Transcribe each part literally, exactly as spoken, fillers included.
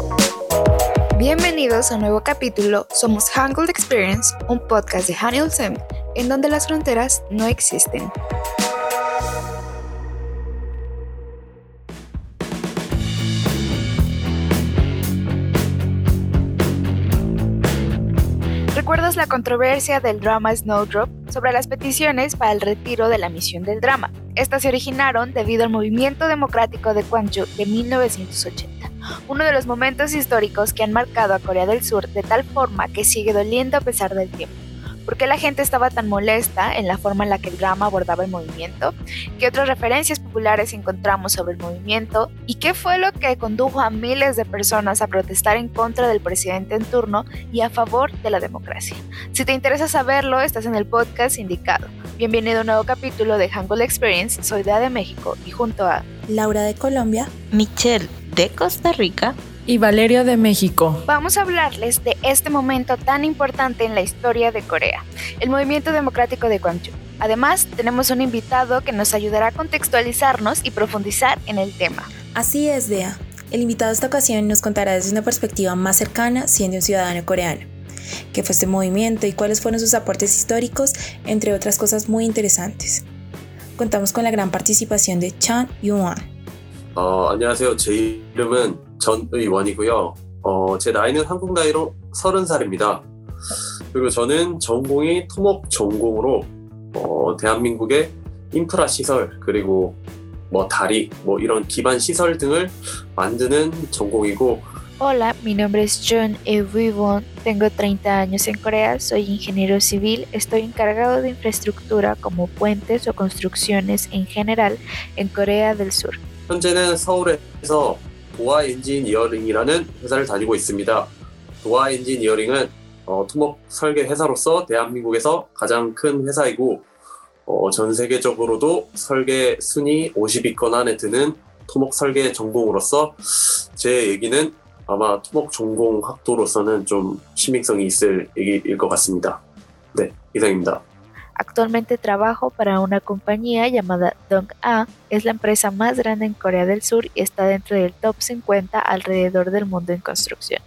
Bienvenidos a un nuevo capítulo. Somos Hangul Experience, un podcast de Hany Ulcem, en donde las fronteras no existen. ¿Recuerdas la controversia del drama Snowdrop sobre las peticiones para el retiro de la misión del drama? Estas se originaron debido al movimiento democrático de Gwangju de mil novecientos ochenta, uno de los momentos históricos que han marcado a Corea del Sur de tal forma que sigue doliendo a pesar del tiempo. ¿Por qué la gente estaba tan molesta en la forma en la que el drama abordaba el movimiento? ¿Qué otras referencias populares encontramos sobre el movimiento? ¿Y qué fue lo que condujo a miles de personas a protestar en contra del presidente en turno y a favor de la democracia? Si te interesa saberlo, estás en el podcast indicado. Bienvenido a un nuevo capítulo de Hangul Experience. Soy Dea de México y junto a Laura de Colombia, Michelle de Costa Rica y Valeria de México. Vamos a hablarles de este momento tan importante en la historia de Corea, el movimiento democrático de Gwangju. Además, tenemos un invitado que nos ayudará a contextualizarnos y profundizar en el tema. Así es, Dea. El invitado de esta ocasión nos contará desde una perspectiva más cercana, siendo un ciudadano coreano, qué fue este movimiento y cuáles fueron sus aportes históricos, entre otras cosas muy interesantes. Contamos con la gran participación de Chun Yoo-hwan. 어, 안녕하세요. 제 이름은 전의원이고요. 어, 제 나이는 한국 나이로 서른 살입니다. 그리고 저는 전공이 토목 전공으로 어, 대한민국의 인프라 시설 그리고 뭐 다리 뭐 이런 기반 시설 등을 만드는 전공이고. Hola, mi nombre es Chun Eui-won, tengo treinta años en Corea, soy ingeniero civil, estoy encargado de infraestructura como puentes o construcciones en general en Corea del Sur. 현재는 서울에서 도아 엔지니어링이라는 회사를 다니고 있습니다. 도아 엔지니어링은 어, 토목 설계 회사로서 대한민국에서 가장 큰 회사이고 어, 전 세계적으로도 설계 순위 오십 위권 안에 드는 토목 설계 전공으로서 제 얘기는 아마 토목 전공 학도로서는 좀 신빙성이 있을 얘기일 것 같습니다. 네, 이상입니다. Actualmente trabajo para una compañía llamada Dong-A, es la empresa más grande en Corea del Sur y está dentro del top cincuenta alrededor del mundo en construcción.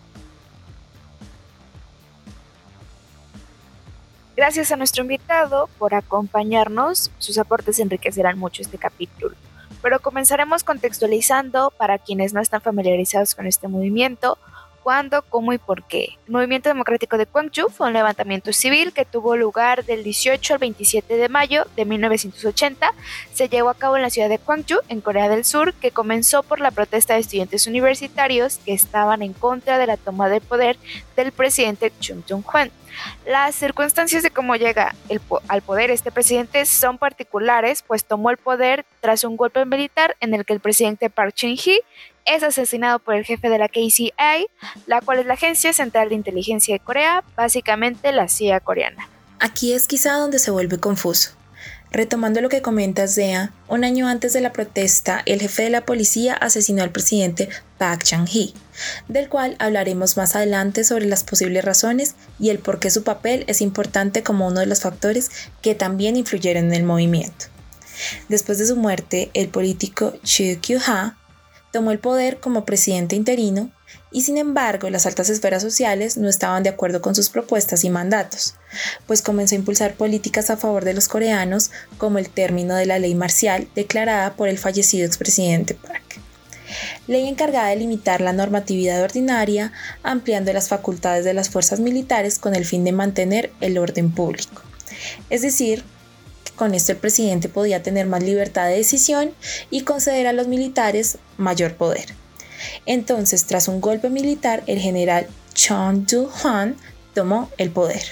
Gracias a nuestro invitado por acompañarnos, sus aportes enriquecerán mucho este capítulo. Pero comenzaremos contextualizando para quienes no están familiarizados con este movimiento, cuándo, cómo y por qué. El movimiento democrático de Gwangju fue un levantamiento civil que tuvo lugar del dieciocho al veintisiete de mayo de mil novecientos ochenta. Se llevó a cabo en la ciudad de Gwangju, en Corea del Sur, que comenzó por la protesta de estudiantes universitarios que estaban en contra de la toma de poder del presidente Chung Dong-hwan. Las circunstancias de cómo llega el po- al poder este presidente son particulares, pues tomó el poder tras un golpe militar en el que el presidente Park Chung-hee es asesinado por el jefe de la K C I A, la cual es la Agencia Central de Inteligencia de Corea, básicamente la C I A coreana. Aquí es quizá donde se vuelve confuso. Retomando lo que comentas, Dea, un año antes de la protesta, el jefe de la policía asesinó al presidente Park Chung-hee, del cual hablaremos más adelante sobre las posibles razones y el por qué su papel es importante como uno de los factores que también influyeron en el movimiento. Después de su muerte, el político Choo Kyu-ha tomó el poder como presidente interino y sin embargo las altas esferas sociales no estaban de acuerdo con sus propuestas y mandatos, pues comenzó a impulsar políticas a favor de los coreanos como el término de la ley marcial declarada por el fallecido expresidente Park. Ley encargada de limitar la normatividad ordinaria, ampliando las facultades de las fuerzas militares con el fin de mantener el orden público. Es decir, con esto el presidente podía tener más libertad de decisión y conceder a los militares mayor poder. Entonces, tras un golpe militar, el general Chun Doo-hwan tomó el poder.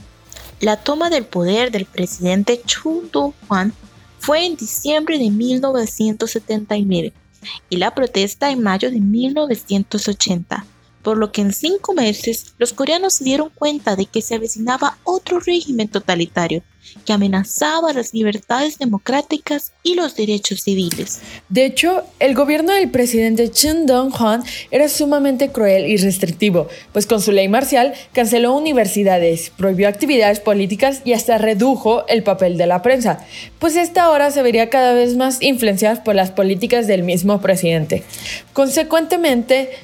La toma del poder del presidente Chung Doo-hwan fue en diciembre de mil novecientos setenta y nueve y la protesta en mayo de mil novecientos ochenta, por lo que en cinco meses los coreanos se dieron cuenta de que se avecinaba otro régimen totalitario que amenazaba las libertades democráticas y los derechos civiles. De hecho, el gobierno del presidente Chung Dong-hwan era sumamente cruel y restrictivo, pues con su ley marcial canceló universidades, prohibió actividades políticas y hasta redujo el papel de la prensa, pues esta ahora se vería cada vez más influenciada por las políticas del mismo presidente. Consecuentemente,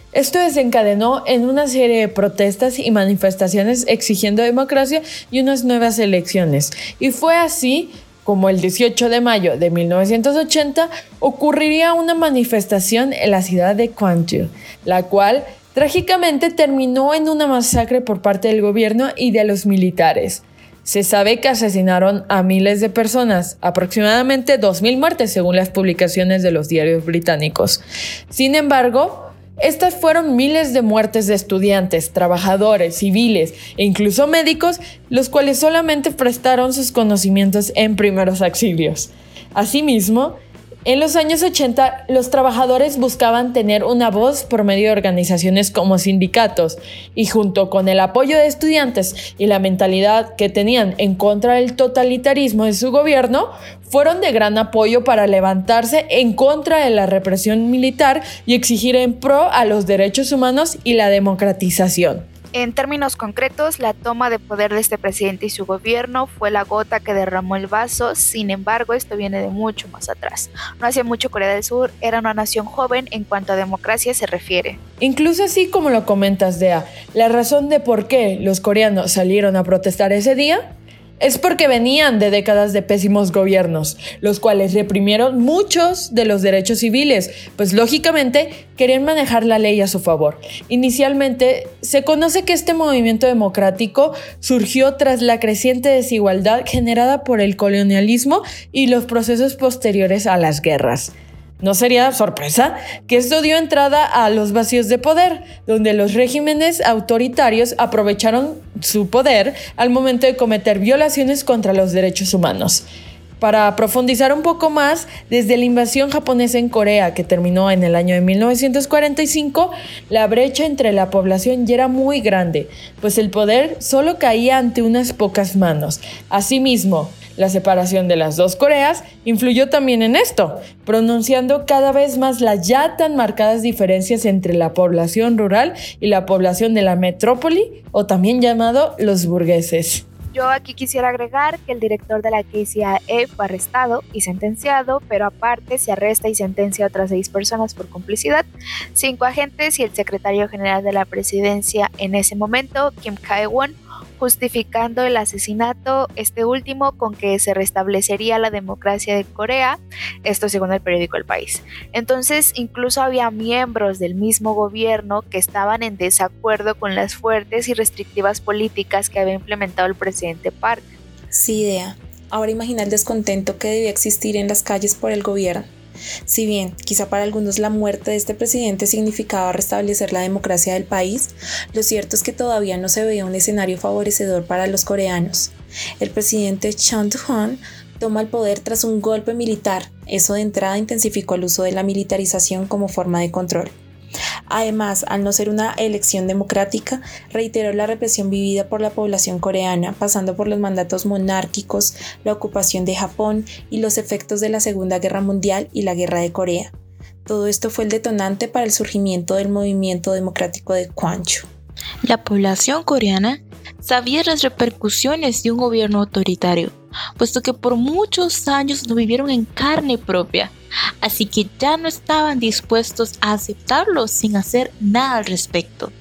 Esto desencadenó en una serie de protestas y manifestaciones exigiendo democracia y unas nuevas elecciones. Y fue así como el dieciocho de mayo de mil novecientos ochenta ocurriría una manifestación en la ciudad de Gwangju, la cual trágicamente terminó en una masacre por parte del gobierno y de los militares. Se sabe que asesinaron a miles de personas, aproximadamente dos mil muertes según las publicaciones de los diarios británicos. Sin embargo, estas fueron miles de muertes de estudiantes, trabajadores, civiles e incluso médicos, los cuales solamente prestaron sus conocimientos en primeros auxilios. Asimismo, en los años ochenta, los trabajadores buscaban tener una voz por medio de organizaciones como sindicatos, y junto con el apoyo de estudiantes y la mentalidad que tenían en contra del totalitarismo de su gobierno, fueron de gran apoyo para levantarse en contra de la represión militar y exigir en pro a los derechos humanos y la democratización. En términos concretos, la toma de poder de este presidente y su gobierno fue la gota que derramó el vaso. Sin embargo, esto viene de mucho más atrás. No hace mucho Corea del Sur era una nación joven en cuanto a democracia se refiere. Incluso así como lo comentas, Dea, la razón de por qué los coreanos salieron a protestar ese día es porque venían de décadas de pésimos gobiernos, los cuales reprimieron muchos de los derechos civiles, pues lógicamente querían manejar la ley a su favor. Inicialmente, se conoce que este movimiento democrático surgió tras la creciente desigualdad generada por el colonialismo y los procesos posteriores a las guerras. No sería sorpresa que esto dio entrada a los vacíos de poder, donde los regímenes autoritarios aprovecharon su poder al momento de cometer violaciones contra los derechos humanos. Para profundizar un poco más, desde la invasión japonesa en Corea, que terminó en el año de mil novecientos cuarenta y cinco, la brecha entre la población ya era muy grande, pues el poder solo caía ante unas pocas manos. Asimismo, la separación de las dos Coreas influyó también en esto, pronunciando cada vez más las ya tan marcadas diferencias entre la población rural y la población de la metrópoli, o también llamado los burgueses. Yo aquí quisiera agregar que el director de la K C I A fue arrestado y sentenciado, pero aparte se arresta y sentencia a otras seis personas por complicidad, cinco agentes y el secretario general de la presidencia en ese momento, Kim Kae-won, justificando el asesinato, este último con que se restablecería la democracia de Corea, esto según el periódico El País. Entonces, incluso había miembros del mismo gobierno que estaban en desacuerdo con las fuertes y restrictivas políticas que había implementado el presidente Park. Sí, Dea. Ahora imagina el descontento que debía existir en las calles por el gobierno. Si bien, quizá para algunos la muerte de este presidente significaba restablecer la democracia del país, lo cierto es que todavía no se veía un escenario favorecedor para los coreanos. El presidente Chun Doo-hwan toma el poder tras un golpe militar. Eso de entrada intensificó el uso de la militarización como forma de control. Además, al no ser una elección democrática, reiteró la represión vivida por la población coreana, pasando por los mandatos monárquicos, la ocupación de Japón y los efectos de la Segunda Guerra Mundial y la Guerra de Corea. Todo esto fue el detonante para el surgimiento del movimiento democrático de Gwangju. La población coreana sabía las repercusiones de un gobierno autoritario, puesto que por muchos años lo vivieron en carne propia, así que ya no estaban dispuestos a aceptarlo sin hacer nada al respecto.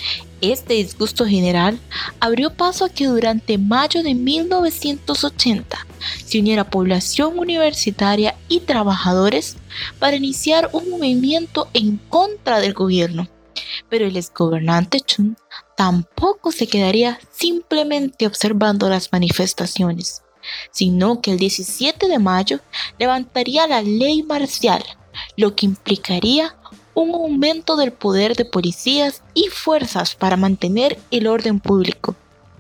Este disgusto general abrió paso a que durante mayo de mil novecientos ochenta se uniera población universitaria y trabajadores para iniciar un movimiento en contra del gobierno. Pero el exgobernante Chun tampoco se quedaría simplemente observando las manifestaciones, sino que el diecisiete de mayo levantaría la ley marcial, lo que implicaría un aumento del poder de policías y fuerzas para mantener el orden público.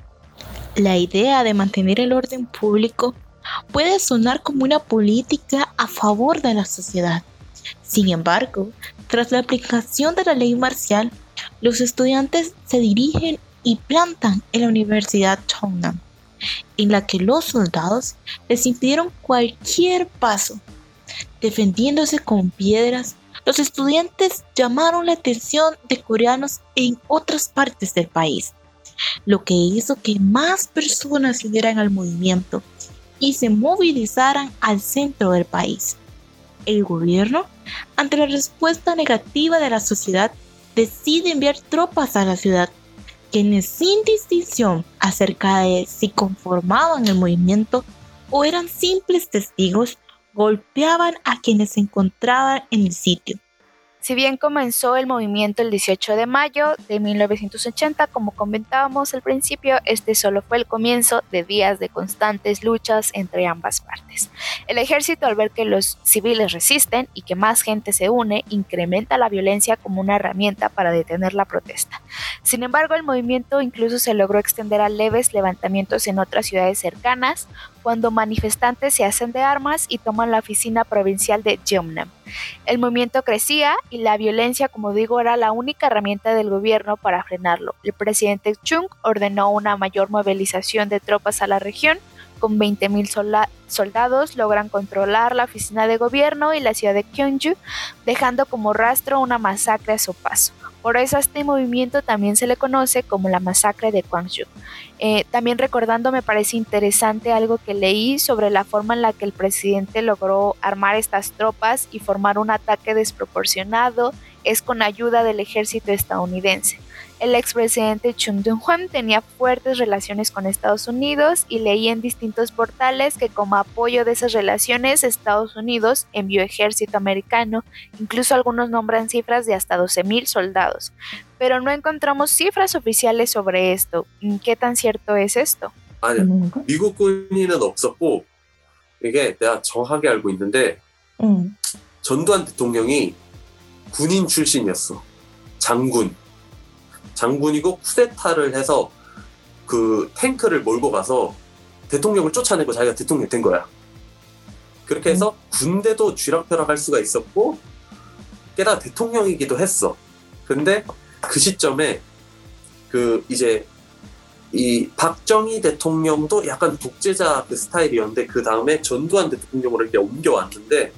La idea de mantener el orden público puede sonar como una política a favor de la sociedad. Sin embargo, tras la aplicación de la ley marcial, los estudiantes se dirigen y plantan en la Universidad Cheongnan, en la que los soldados les impidieron cualquier paso. Defendiéndose con piedras, los estudiantes llamaron la atención de coreanos en otras partes del país, lo que hizo que más personas se unieran al movimiento y se movilizaran al centro del país. El gobierno, ante la respuesta negativa de la sociedad, decide enviar tropas a la ciudad, quienes sin distinción acerca de si conformaban el movimiento o eran simples testigos, golpeaban a quienes se encontraban en el sitio. Si bien comenzó el movimiento el dieciocho de mayo de mil novecientos ochenta, como comentábamos al principio, este solo fue el comienzo de días de constantes luchas entre ambas partes. El ejército, al ver que los civiles resisten y que más gente se une, incrementa la violencia como una herramienta para detener la protesta. Sin embargo, el movimiento incluso se logró extender a leves levantamientos en otras ciudades cercanas, cuando manifestantes se hacen de armas y toman la oficina provincial de Jeonnam. El movimiento crecía y la violencia, como digo, era la única herramienta del gobierno para frenarlo. El presidente Chung ordenó una mayor movilización de tropas a la región. Con veinte mil solda- soldados logran controlar la oficina de gobierno y la ciudad de Gyeongju, dejando como rastro una masacre a su paso. Por eso a este movimiento también se le conoce como la masacre de Gwangju. Eh, también recordando, me parece interesante algo que leí sobre la forma en la que el presidente logró armar estas tropas y formar un ataque desproporcionado, es con ayuda del ejército estadounidense. El expresidente Chung Dong-hwan tenía fuertes relaciones con Estados Unidos y leí en distintos portales que como apoyo de esas relaciones Estados Unidos envió ejército americano, incluso algunos nombran cifras de hasta doce mil soldados, pero no encontramos cifras oficiales sobre esto. ¿Qué tan cierto es esto? 아니야, 미국 군인은 없었고 이게 내가 정확하게 알고 있는데 음. 전두환 대통령이 군인 출신이었어. 장군. 장군이고 쿠데타를 해서 그 탱크를 몰고 가서 대통령을 쫓아내고 자기가 대통령이 된 거야. 그렇게 해서 군대도 쥐락펴락할 수가 있었고 게다가 대통령이기도 했어. 근데 그 시점에 그 이제 이 박정희 대통령도 약간 독재자 그 스타일이었는데 그 다음에 전두환 대통령으로 이렇게 옮겨왔는데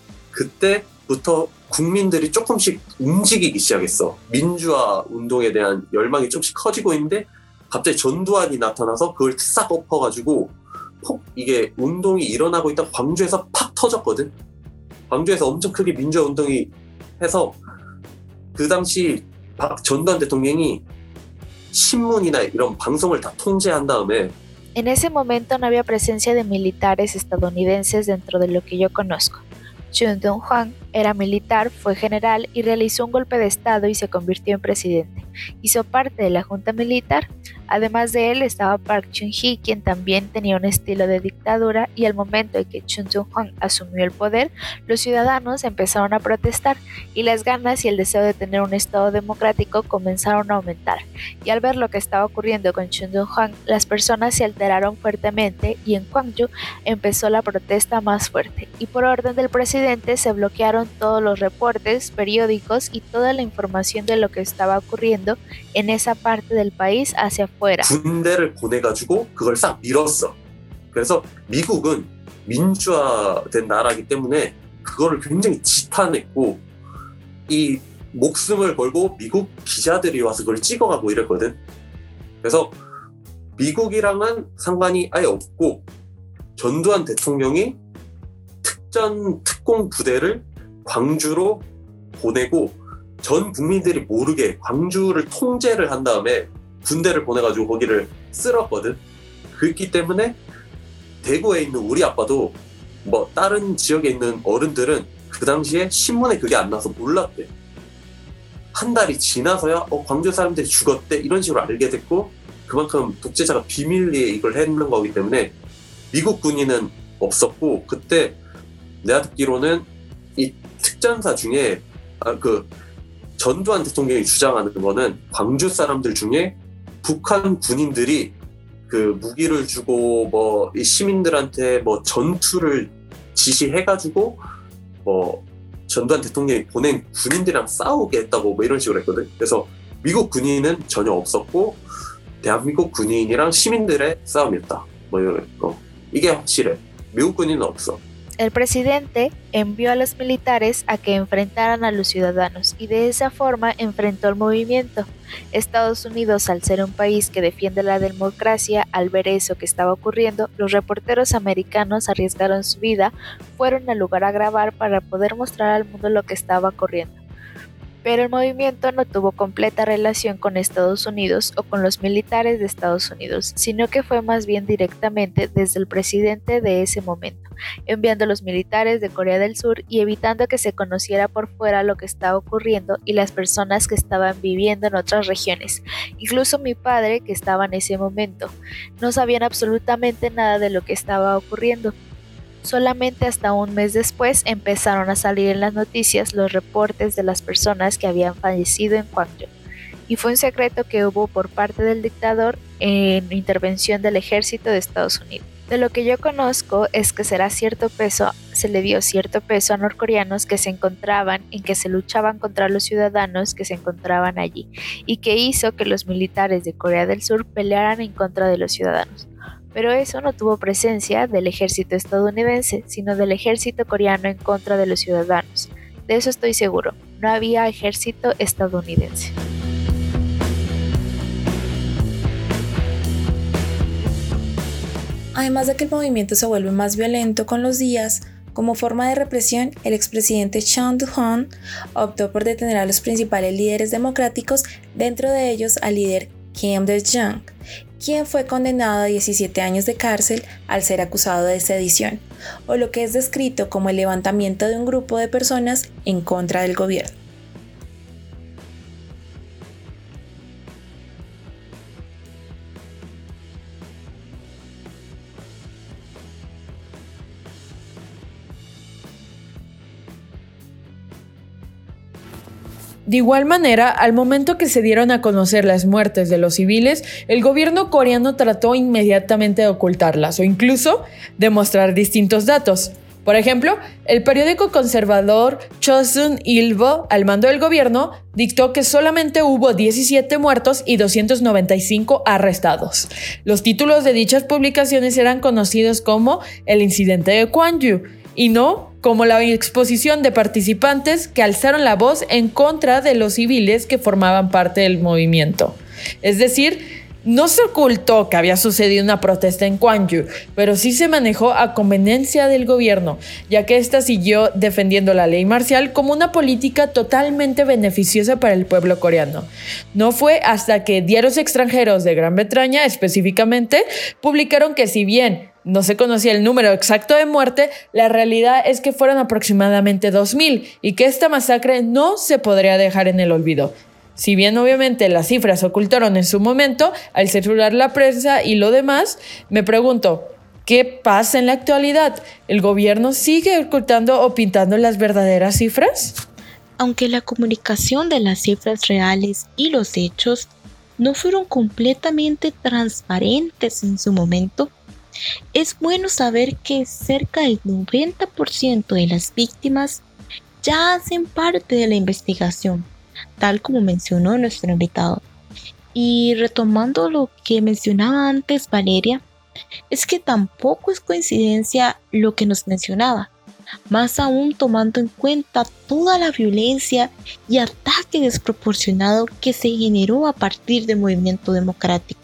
그때부터 국민들이 조금씩 움직이기 시작했어. 민주화 운동에 대한 열망이 조금씩 커지고 있는데 갑자기 전두환이 나타나서 그걸 싹 엎어가지고 폭 이게 운동이 일어나고 있다 광주에서 팍 터졌거든. 광주에서 엄청 크게 민주화 운동이 해서 그 당시 박 전두환 대통령이 신문이나 이런 방송을 다 통제한 다음에 En ese momento no había presencia de militares estadounidenses dentro de lo que yo conozco. Chung Dong-hwan era militar, fue general y realizó un golpe de estado y se convirtió en presidente. Hizo parte de la junta militar. Además de él estaba Park Chung-hee, quien también tenía un estilo de dictadura, y al momento en que Chung Dong-hwan asumió el poder, los ciudadanos empezaron a protestar y las ganas y el deseo de tener un estado democrático comenzaron a aumentar. Y al ver lo que estaba ocurriendo con Chung Dong-hwan, las personas se alteraron fuertemente y en Gwangju empezó la protesta más fuerte. Y por orden del presidente se bloquearon todos los reportes, periódicos y toda la información de lo que estaba ocurriendo en esa parte del país hacia afuera. 군대를 보내가지고 그걸 싹 밀었어. 그래서 미국은 민주화된 나라이기 때문에 그거를 굉장히 지탄했고 이 목숨을 걸고 미국 기자들이 와서 그걸 찍어가고 이랬거든. 그래서 미국이랑은 상관이 아예 없고 전두환 대통령이 특전 특공 부대를 광주로 보내고 전 국민들이 모르게 광주를 통제를 한 다음에 군대를 보내가지고 거기를 쓸었거든. 그렇기 때문에 대구에 있는 우리 아빠도 뭐 다른 지역에 있는 어른들은 그 당시에 신문에 그게 안 나서 몰랐대. 한 달이 지나서야 어 광주 사람들이 죽었대 이런 식으로 알게 됐고 그만큼 독재자가 비밀리에 이걸 했는 거기 때문에 미국 군인은 없었고 그때 내가 듣기로는 이 특전사 중에 아, 그 전두환 대통령이 주장하는 거는 광주 사람들 중에 북한 군인들이 그 무기를 주고 뭐 이 시민들한테 뭐 전투를 지시해가지고 뭐 전두환 대통령이 보낸 군인들이랑 싸우게 했다고 뭐 이런 식으로 했거든. 그래서 미국 군인은 전혀 없었고 대한민국 군인이랑 시민들의 싸움이었다. 뭐 이런 거. 이게 확실해. 미국 군인은 없어. El presidente envió a los militares a que enfrentaran a los ciudadanos y de esa forma enfrentó el movimiento. Estados Unidos, al ser un país que defiende la democracia, al ver eso que estaba ocurriendo, los reporteros americanos arriesgaron su vida, fueron al lugar a grabar para poder mostrar al mundo lo que estaba ocurriendo. Pero el movimiento no tuvo completa relación con Estados Unidos o con los militares de Estados Unidos, sino que fue más bien directamente desde el presidente de ese momento, enviando a los militares de Corea del Sur y evitando que se conociera por fuera lo que estaba ocurriendo y las personas que estaban viviendo en otras regiones. Incluso mi padre, que estaba en ese momento, no sabían absolutamente nada de lo que estaba ocurriendo. Solamente hasta un mes después empezaron a salir en las noticias los reportes de las personas que habían fallecido en Gwangju, y fue un secreto que hubo por parte del dictador en intervención del ejército de Estados Unidos. De lo que yo conozco es que será cierto peso, se le dio cierto peso a norcoreanos que se encontraban en que se luchaban contra los ciudadanos que se encontraban allí, y que hizo que los militares de Corea del Sur pelearan en contra de los ciudadanos. Pero eso no tuvo presencia del ejército estadounidense, sino del ejército coreano en contra de los ciudadanos. De eso estoy seguro, no había ejército estadounidense. Además de que el movimiento se vuelve más violento con los días, como forma de represión, el expresidente Chun Doo-hwan optó por detener a los principales líderes democráticos, dentro de ellos al líder Kim Dae-jung, quien fue condenado a diecisiete años de cárcel al ser acusado de sedición, o lo que es descrito como el levantamiento de un grupo de personas en contra del gobierno. De igual manera, al momento que se dieron a conocer las muertes de los civiles, el gobierno coreano trató inmediatamente de ocultarlas o incluso de mostrar distintos datos. Por ejemplo, el periódico conservador Chosun Ilbo, al mando del gobierno, dictó que solamente hubo diecisiete muertos y doscientos noventa y cinco arrestados. Los títulos de dichas publicaciones eran conocidos como el incidente de Gwangju y no como la exposición de participantes que alzaron la voz en contra de los civiles que formaban parte del movimiento. Es decir, no se ocultó que había sucedido una protesta en Gwangju, pero sí se manejó a conveniencia del gobierno, ya que ésta siguió defendiendo la ley marcial como una política totalmente beneficiosa para el pueblo coreano. No fue hasta que diarios extranjeros de Gran Bretaña, específicamente, publicaron que si bien no se conocía el número exacto de muerte, la realidad es que fueron aproximadamente dos mil y que esta masacre no se podría dejar en el olvido. Si bien obviamente las cifras se ocultaron en su momento al censurar la prensa y lo demás, me pregunto, ¿qué pasa en la actualidad? ¿El gobierno sigue ocultando o pintando las verdaderas cifras? Aunque la comunicación de las cifras reales y los hechos no fueron completamente transparentes en su momento, es bueno saber que cerca del noventa por ciento de las víctimas ya hacen parte de la investigación, tal como mencionó nuestro invitado. Y retomando lo que mencionaba antes Valeria, es que tampoco es coincidencia lo que nos mencionaba, más aún tomando en cuenta toda la violencia y ataque desproporcionado que se generó a partir del movimiento democrático.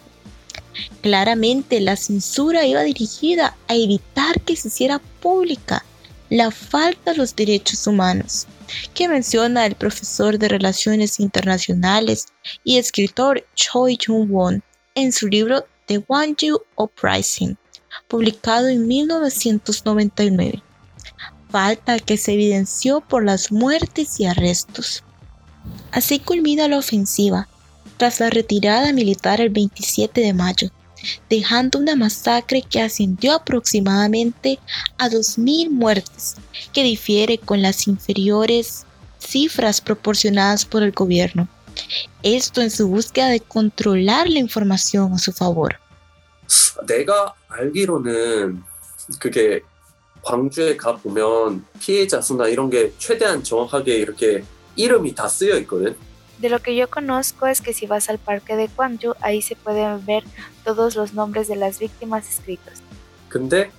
Claramente la censura iba dirigida a evitar que se hiciera pública la falta de los derechos humanos, que menciona el profesor de Relaciones Internacionales y escritor Choi Jung-won en su libro The Gwangju Uprising, publicado en mil novecientos noventa y nueve. Falta que se evidenció por las muertes y arrestos. Así culmina la ofensiva, tras la retirada militar el veintisiete de mayo, dejando una masacre que ascendió aproximadamente a dos mil muertes, que difiere con las inferiores cifras proporcionadas por el gobierno. Esto en su búsqueda de controlar la información a su favor. 내가 알기로는 그게 광주에 가 보면 피해자 수나 이런 게 최대한 정확하게 이렇게 이름이 다 쓰여 있거든. De lo que yo conozco es que si vas al parque de Gwangju, ahí se pueden ver todos los nombres de las víctimas escritos. 근데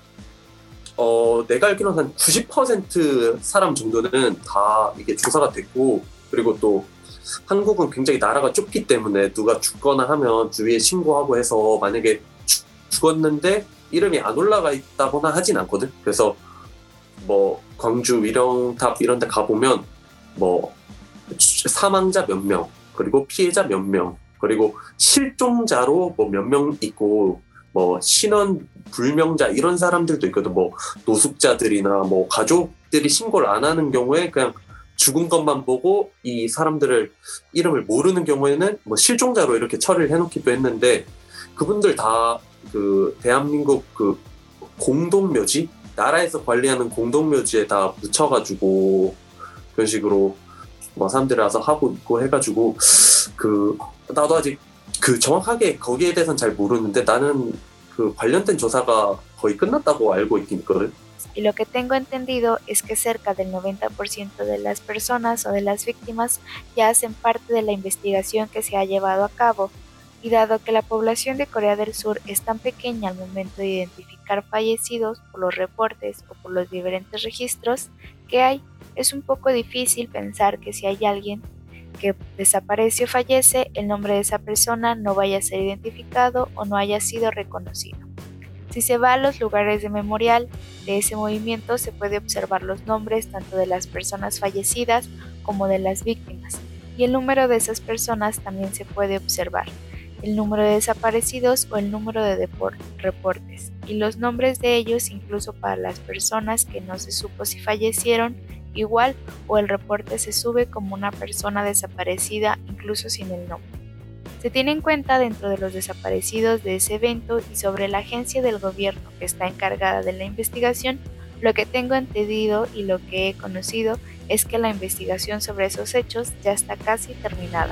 어, 내가 알기로는 한 구십 퍼센트 사람 정도는 다 이게 조사가 됐고, 그리고 또 한국은 굉장히 나라가 좁기 때문에 누가 죽거나 하면 주위에 신고하고 해서 만약에 죽, 죽었는데 이름이 안 올라가 있다거나 하진 않거든. 그래서 뭐 광주 위령탑 이런 데 가보면 뭐 사망자 몇 명, 그리고 피해자 몇 명, 그리고 실종자로 뭐 몇 명 있고 뭐 신원 불명자 이런 사람들도 있거든. 뭐 노숙자들이나 뭐 가족들이 신고를 안 하는 경우에 그냥 죽은 것만 보고 이 사람들을 이름을 모르는 경우에는 뭐 실종자로 이렇게 처리를 해놓기도 했는데 그분들 다 그 대한민국 그 공동묘지 나라에서 관리하는 공동묘지에 다 묻혀가지고 그런 식으로 뭐 사람들이 와서 하고 있고 해가지고 그 나도 아직 그 정확하게 거기에 대해서는 잘 모르는데 나는 그 관련된 조사가 거의 끝났다고 알고 있긴 있거든. Y lo que tengo entendido es que cerca del noventa por ciento de las personas o de las víctimas ya hacen parte de la investigación que se ha llevado a cabo. Y dado que la población de Corea del Sur es tan pequeña al momento de identificar fallecidos por los reportes o por los diferentes registros que hay, es un poco difícil pensar que si hay alguien que desaparece o fallece, el nombre de esa persona no vaya a ser identificado o no haya sido reconocido. Si se va a los lugares de memorial de ese movimiento, se puede observar los nombres tanto de las personas fallecidas como de las víctimas, y el número de esas personas también se puede observar, el número de desaparecidos o el número de depor- reportes, y los nombres de ellos incluso para las personas que no se supo si fallecieron igual o el reporte se sube como una persona desaparecida incluso sin el nombre. Se tiene en cuenta dentro de los desaparecidos de ese evento y sobre la agencia del gobierno que está encargada de la investigación. Lo que tengo entendido y lo que he conocido es que la investigación sobre esos hechos ya está casi terminada.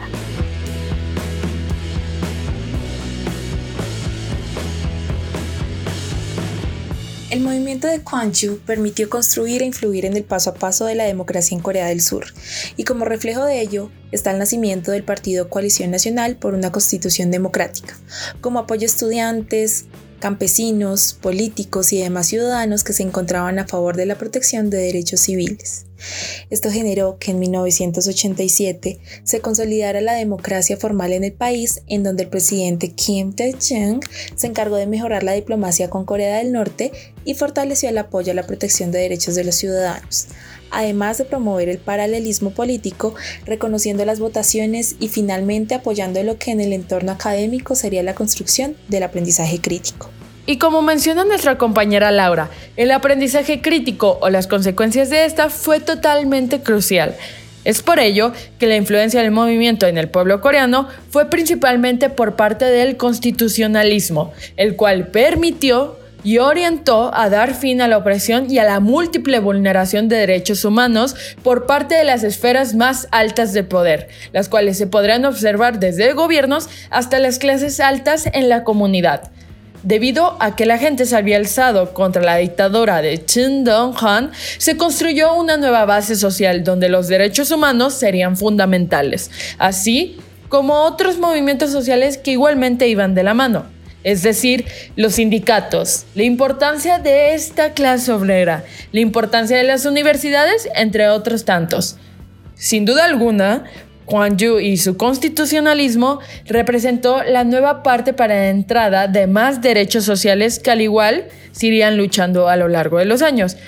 El movimiento de Kwangju permitió construir e influir en el paso a paso de la democracia en Corea del Sur, y como reflejo de ello está el nacimiento del partido Coalición Nacional por una Constitución Democrática, como apoyo a estudiantes, campesinos, políticos y demás ciudadanos que se encontraban a favor de la protección de derechos civiles. Esto generó que en mil novecientos ochenta y siete se consolidara la democracia formal en el país, en donde el presidente Kim Dae-jung se encargó de mejorar la diplomacia con Corea del Norte y fortaleció el apoyo a la protección de derechos de los ciudadanos, además de promover el paralelismo político, reconociendo las votaciones y finalmente apoyando lo que en el entorno académico sería la construcción del aprendizaje crítico. Y como menciona nuestra compañera Laura, el aprendizaje crítico o las consecuencias de esta fue totalmente crucial. Es por ello que la influencia del movimiento en el pueblo coreano fue principalmente por parte del constitucionalismo, el cual permitió y orientó a dar fin a la opresión y a la múltiple vulneración de derechos humanos por parte de las esferas más altas de poder, las cuales se podrán observar desde gobiernos hasta las clases altas en la comunidad. Debido a que la gente se había alzado contra la dictadura de Chun Dong-hwan, se construyó una nueva base social donde los derechos humanos serían fundamentales, así como otros movimientos sociales que igualmente iban de la mano, es decir, los sindicatos, la importancia de esta clase obrera, la importancia de las universidades, entre otros tantos. Sin duda alguna, Kwangju y su constitucionalismo representó la nueva parte para la entrada de más derechos sociales que al igual se irían luchando a lo largo de los años.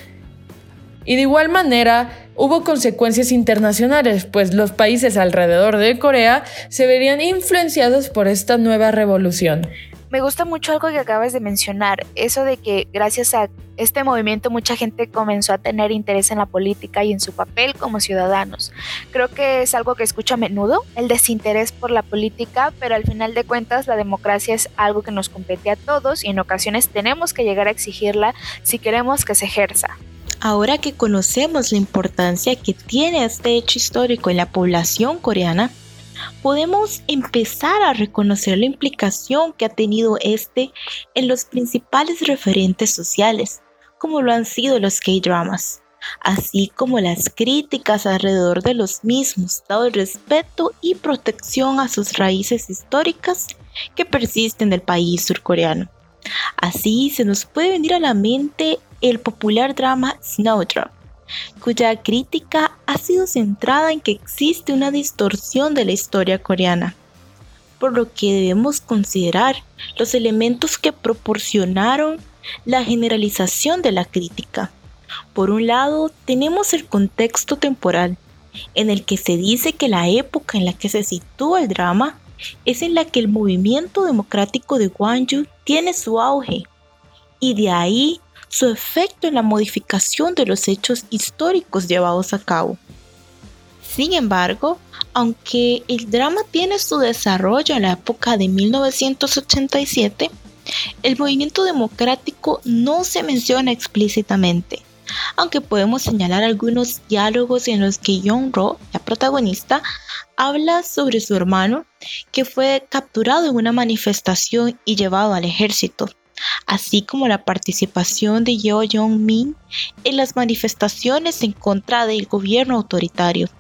Y de igual manera hubo consecuencias internacionales, pues los países alrededor de Corea se verían influenciados por esta nueva revolución. Me gusta mucho algo que acabas de mencionar, eso de que gracias a este movimiento mucha gente comenzó a tener interés en la política y en su papel como ciudadanos. Creo que es algo que escucho a menudo, el desinterés por la política, pero al final de cuentas la democracia es algo que nos compete a todos y en ocasiones tenemos que llegar a exigirla si queremos que se ejerza. Ahora que conocemos la importancia que tiene este hecho histórico en la población coreana, podemos empezar a reconocer la implicación que ha tenido este en los principales referentes sociales, como lo han sido los K-dramas, así como las críticas alrededor de los mismos, dado el respeto y protección a sus raíces históricas que persisten del país surcoreano. Así se nos puede venir a la mente el popular drama Snowdrop, cuya crítica ha sido centrada en que existe una distorsión de la historia coreana, por lo que debemos considerar los elementos que proporcionaron la generalización de la crítica. Por un lado, tenemos el contexto temporal, en el que se dice que la época en la que se sitúa el drama es en la que el movimiento democrático de Gwangju tiene su auge, y de ahí su efecto en la modificación de los hechos históricos llevados a cabo. Sin embargo, aunque el drama tiene su desarrollo en la época de mil novecientos ochenta y siete, el movimiento democrático no se menciona explícitamente, aunque podemos señalar algunos diálogos en los que Young-ro, la protagonista, habla sobre su hermano que fue capturado en una manifestación y llevado al ejército, así como la participación de Yeo Jong-min en las manifestaciones en contra del gobierno autoritario.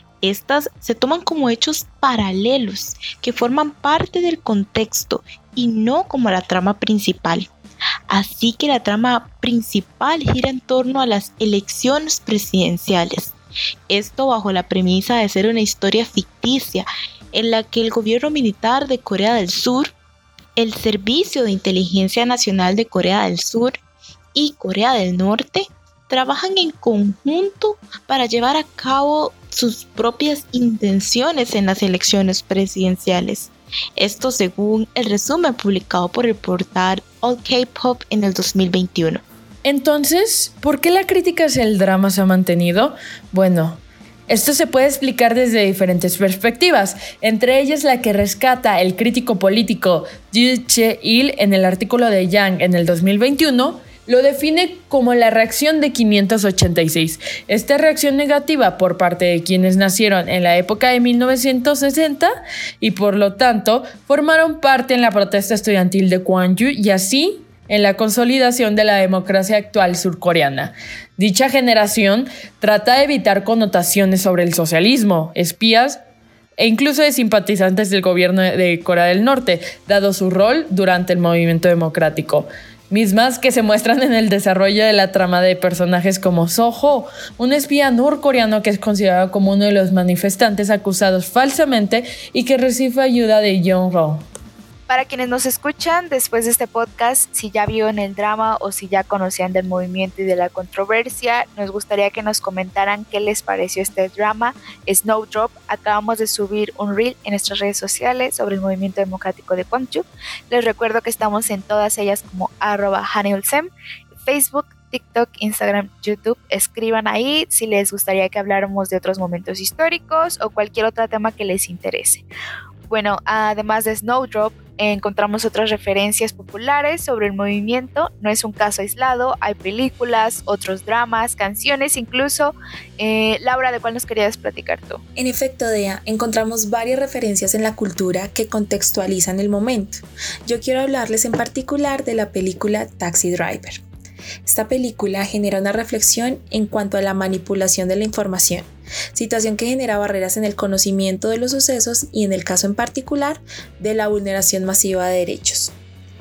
Estas se toman como hechos paralelos que forman parte del contexto y no como la trama principal. Así que la trama principal gira en torno a las elecciones presidenciales. Esto bajo la premisa de ser una historia ficticia en la que el gobierno militar de Corea del Sur, el Servicio de Inteligencia Nacional de Corea del Sur y Corea del Norte trabajan en conjunto para llevar a cabo sus propias intenciones en las elecciones presidenciales. Esto según el resumen publicado por el portal All K-Pop en el dos mil veintiuno. Entonces, ¿por qué la crítica hacia el drama se ha mantenido? Bueno, esto se puede explicar desde diferentes perspectivas, entre ellas la que rescata el crítico político Yoo Che-il en el artículo de Yang en el dos mil veintiuno, lo define como la reacción de quinientos ochenta y seis. Esta reacción negativa por parte de quienes nacieron en la época de mil novecientos sesenta y por lo tanto formaron parte en la protesta estudiantil de Gwangju y así en la consolidación de la democracia actual surcoreana. Dicha generación trata de evitar connotaciones sobre el socialismo, espías e incluso de simpatizantes del gobierno de Corea del Norte, dado su rol durante el movimiento democrático. Mismas que se muestran en el desarrollo de la trama de personajes como Soho, un espía norcoreano que es considerado como uno de los manifestantes acusados falsamente y que recibe ayuda de Young-ro. Para quienes nos escuchan después de este podcast, si ya vieron el drama o si ya conocían del movimiento y de la controversia, nos gustaría que nos comentaran qué les pareció este drama Snowdrop. Acabamos de subir un reel en nuestras redes sociales sobre el movimiento democrático de Gwangju. Les recuerdo que estamos en todas ellas como arroba hanulsem, Facebook, TikTok, Instagram, YouTube. Escriban ahí si les gustaría que habláramos de otros momentos históricos o cualquier otro tema que les interese. Bueno, además de Snowdrop, encontramos otras referencias populares sobre el movimiento. No es un caso aislado, hay películas, otros dramas, canciones incluso. Eh, Laura, ¿de cuál nos querías platicar tú? En efecto, Dea, encontramos varias referencias en la cultura que contextualizan el momento. Yo quiero hablarles en particular de la película Taxi Driver. Esta película genera una reflexión en cuanto a la manipulación de la información, situación que genera barreras en el conocimiento de los sucesos y en el caso en particular de la vulneración masiva de derechos.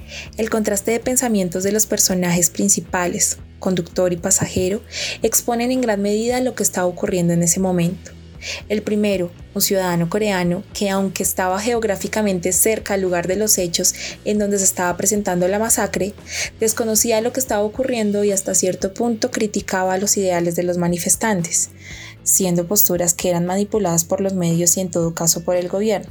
El contraste de pensamientos de los personajes principales, conductor y pasajero, exponen en gran medida lo que estaba ocurriendo en ese momento. El primero, un ciudadano coreano que, aunque estaba geográficamente cerca al lugar de los hechos en donde se estaba presentando la masacre, desconocía lo que estaba ocurriendo y hasta cierto punto criticaba los ideales de los manifestantes, siendo posturas que eran manipuladas por los medios y en todo caso por el gobierno.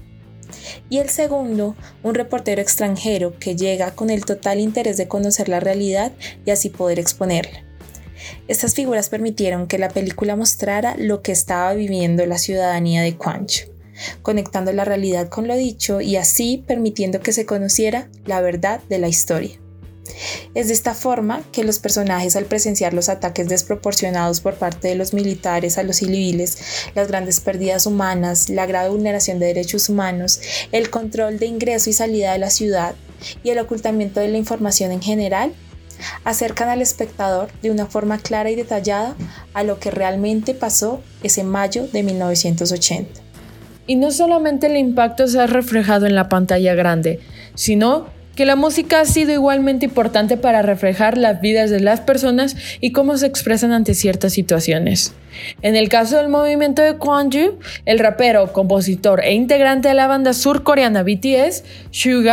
Y el segundo, un reportero extranjero que llega con el total interés de conocer la realidad y así poder exponerla. Estas figuras permitieron que la película mostrara lo que estaba viviendo la ciudadanía de Gwangju, conectando la realidad con lo dicho y así permitiendo que se conociera la verdad de la historia. Es de esta forma que los personajes, al presenciar los ataques desproporcionados por parte de los militares a los civiles, las grandes pérdidas humanas, la grave vulneración de derechos humanos, el control de ingreso y salida de la ciudad y el ocultamiento de la información en general, acercan al espectador de una forma clara y detallada a lo que realmente pasó ese mayo de mil novecientos ochenta. Y no solamente el impacto se ha reflejado en la pantalla grande, sino que la música ha sido igualmente importante para reflejar las vidas de las personas y cómo se expresan ante ciertas situaciones. En el caso del movimiento de Gwangju, el rapero, compositor e integrante de la banda surcoreana B T S, Suga,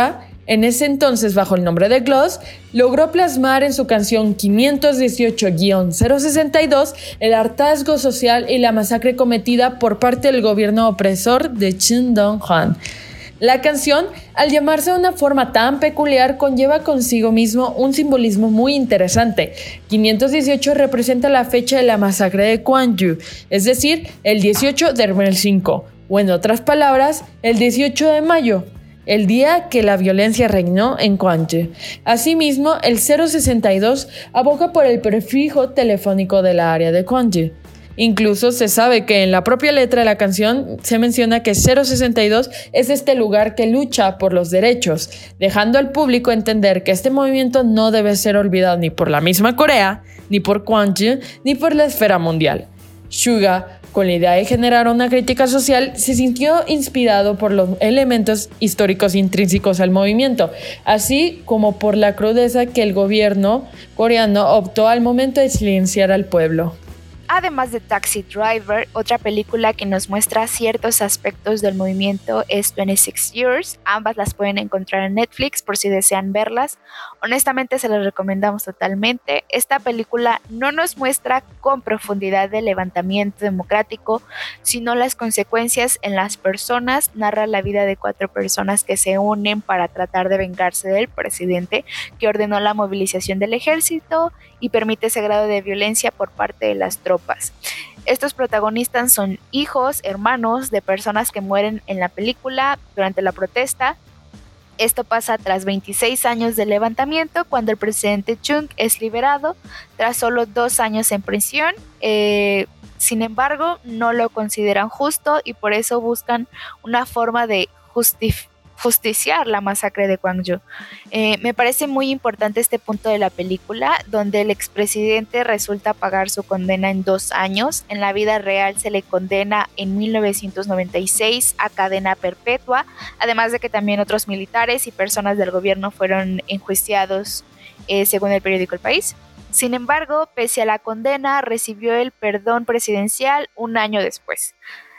en ese entonces bajo el nombre de Gloss, logró plasmar en su canción quinientos dieciocho guion cero sesenta y dos el hartazgo social y la masacre cometida por parte del gobierno opresor de Chun Dong-hwan. La canción, al llamarse de una forma tan peculiar, conlleva consigo mismo un simbolismo muy interesante. quinientos dieciocho representa la fecha de la masacre de Gwangju, es decir, el dieciocho del mes cinco, o en otras palabras, el dieciocho de mayo. El día que la violencia reinó en Gwangju. Asimismo, el cero sesenta y dos aboga por el prefijo telefónico de la área de Gwangju. Incluso se sabe que en la propia letra de la canción se menciona que cero sesenta y dos es este lugar que lucha por los derechos, dejando al público entender que este movimiento no debe ser olvidado ni por la misma Corea, ni por Gwangju, ni por la esfera mundial. Suga, con la idea de generar una crítica social, se sintió inspirado por los elementos históricos intrínsecos al movimiento, así como por la crudeza que el gobierno coreano optó al momento de silenciar al pueblo. Además de Taxi Driver, otra película que nos muestra ciertos aspectos del movimiento es veintiséis Years. Ambas las pueden encontrar en Netflix por si desean verlas. Honestamente se las recomendamos totalmente. Esta película no nos muestra con profundidad el levantamiento democrático, sino las consecuencias en las personas. Narra la vida de cuatro personas que se unen para tratar de vengarse del presidente que ordenó la movilización del ejército y permite ese grado de violencia por parte de las tropas. Estos protagonistas son hijos, hermanos de personas que mueren en la película durante la protesta. Esto pasa tras veintiséis años de levantamiento, cuando el presidente Chung es liberado tras solo dos años en prisión. Eh, sin embargo, no lo consideran justo y por eso buscan una forma de justificar justiciar la masacre de Gwangju. Eh, me parece muy importante este punto de la película, donde el expresidente resulta pagar su condena en dos años. En la vida real se le condena en mil novecientos noventa y seis a cadena perpetua, además de que también otros militares y personas del gobierno fueron enjuiciados, eh, según el periódico El País. Sin embargo, pese a la condena, recibió el perdón presidencial un año después.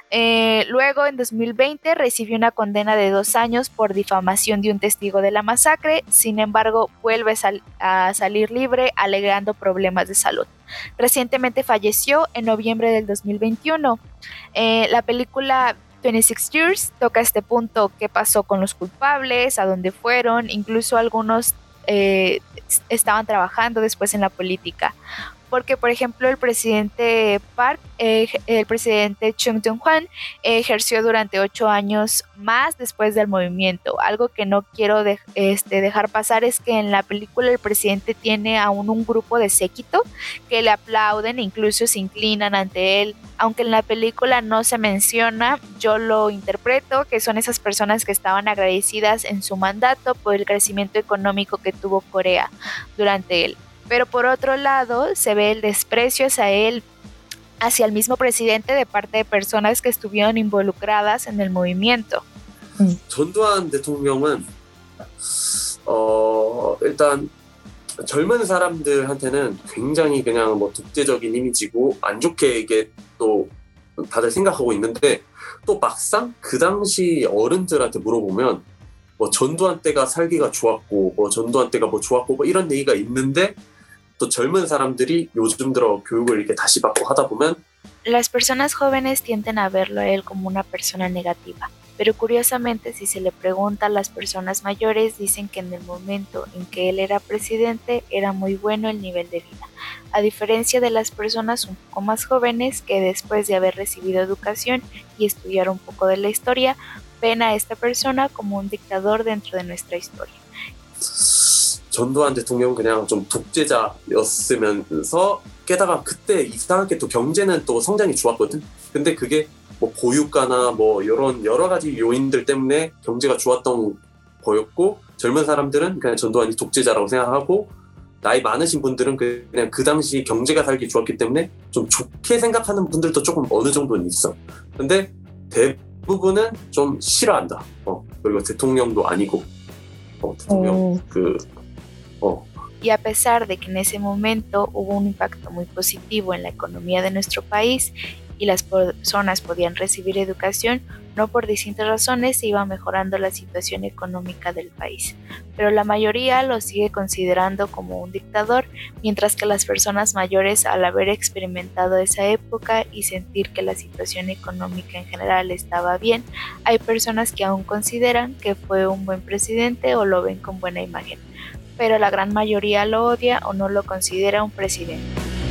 Eh, luego, en dos mil veinte, recibió una condena de dos años por difamación de un testigo de la masacre. Sin embargo, vuelve sal- a salir libre alegando problemas de salud. Recientemente falleció en noviembre del dos mil veintiuno. Eh, la película veintiséis Years toca este punto: qué pasó con los culpables, a dónde fueron, incluso algunos eh, estaban trabajando después en la política. Porque, por ejemplo, el presidente Park, eh, el presidente Chung Dong-hwan, eh, ejerció durante ocho años más después del movimiento. Algo que no quiero de, este, dejar pasar es que en la película el presidente tiene aún un grupo de séquito que le aplauden e incluso se inclinan ante él. Aunque en la película no se menciona, yo lo interpreto que son esas personas que estaban agradecidas en su mandato por el crecimiento económico que tuvo Corea durante él. Pero por otro lado, se ve el desprecio hacia él, hacia el mismo presidente de parte de personas que estuvieron involucradas en el movimiento. 전두환 대통령은 어, 일단 젊은 사람들한테는 굉장히 그냥 뭐 독재적인 이미지고 안 좋게 이게 또 다들 생각하고 있는데, 또 막상 그 당시 어른들한테 물어보면 뭐 전두환 때가 살기가 좋았고 뭐 전두환 때가 뭐 좋았고 뭐 이런 얘기가 있는데, 또 젊은 사람들이 요즘 들어 교육을 이렇게 다시 받고 하다 보면 Las personas jóvenes tienden a verlo a él como una persona negativa, pero curiosamente si se le pregunta a las personas mayores dicen que en el momento en que él era presidente era muy bueno el nivel de vida, a diferencia de las personas un poco más jóvenes que después de haber recibido educación y estudiar un poco de la historia ven a esta persona como un dictador dentro de nuestra historia. 전두환 대통령은 그냥 좀 독재자였으면서, 게다가 그때 이상하게 또 경제는 또 성장이 좋았거든. 근데 그게 뭐 고유가나 뭐 이런 여러 가지 요인들 때문에 경제가 좋았던 거였고, 젊은 사람들은 그냥 전두환이 독재자라고 생각하고, 나이 많으신 분들은 그냥 그 당시 경제가 살기 좋았기 때문에 좀 좋게 생각하는 분들도 조금 어느 정도는 있어. 근데 대부분은 좀 싫어한다. 어, 그리고 대통령도 아니고, 어, 대통령 어. 그 어. Y a pesar de que en ese momento hubo un impacto muy positivo en la economía de nuestro país y las personas podían recibir educación, no por distintas razones se iba mejorando la situación económica del país, pero la mayoría lo sigue considerando como un dictador, mientras que las personas mayores, al haber experimentado esa época y sentir que la situación económica en general estaba bien, hay personas que aún consideran que fue un buen presidente o lo ven con buena imagen, pero la gran mayoría lo odia o no lo considera un presidente.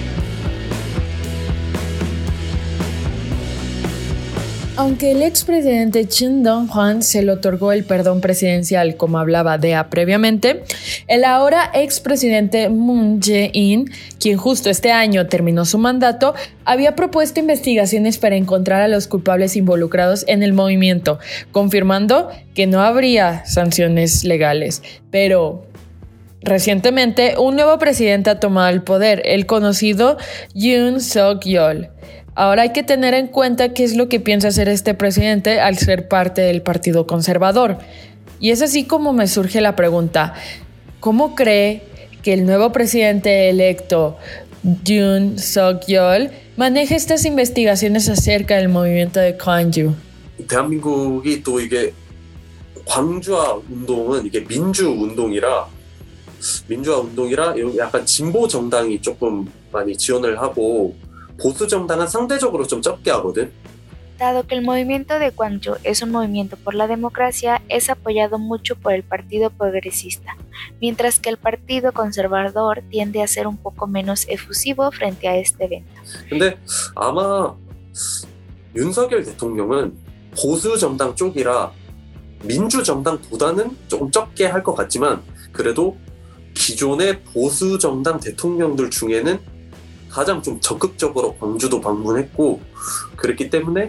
Aunque el expresidente Chun Dong-hwan se le otorgó el perdón presidencial, como hablaba Dea previamente, el ahora expresidente Moon Jae-in, quien justo este año terminó su mandato, había propuesto investigaciones para encontrar a los culpables involucrados en el movimiento, confirmando que no habría sanciones legales. Pero recientemente, un nuevo presidente ha tomado el poder, el conocido Yoon Suk-yeol. Ahora hay que tener en cuenta qué es lo que piensa hacer este presidente al ser parte del Partido Conservador. Y es así como me surge la pregunta, ¿cómo cree que el nuevo presidente electo, Yoon Suk-yeol, maneja estas investigaciones acerca del movimiento de Gwangju? 대한민국이 또 이게 광주화 운동은 이게 민주 운동이라 민주화 운동이라 약간 진보 정당이 조금 많이 지원을 하고 보수 정당은 상대적으로 좀 적게 하거든. Dado que el movimiento de Gwangju es un movimiento por la democracia, es apoyado mucho por el Partido Progresista, mientras que el Partido Conservador tiende a ser un poco menos efusivo frente a este evento. 근데 아마 윤석열 대통령은 보수 정당 쪽이라 민주 정당보다는 조금 적게 할 것 같지만 그래도 기존의 보수 정당 대통령들 중에는 가장 좀 적극적으로 광주도 방문했고 그랬기 때문에